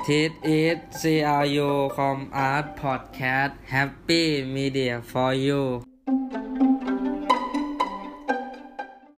This is CRU Com Art Podcast Happy Media for you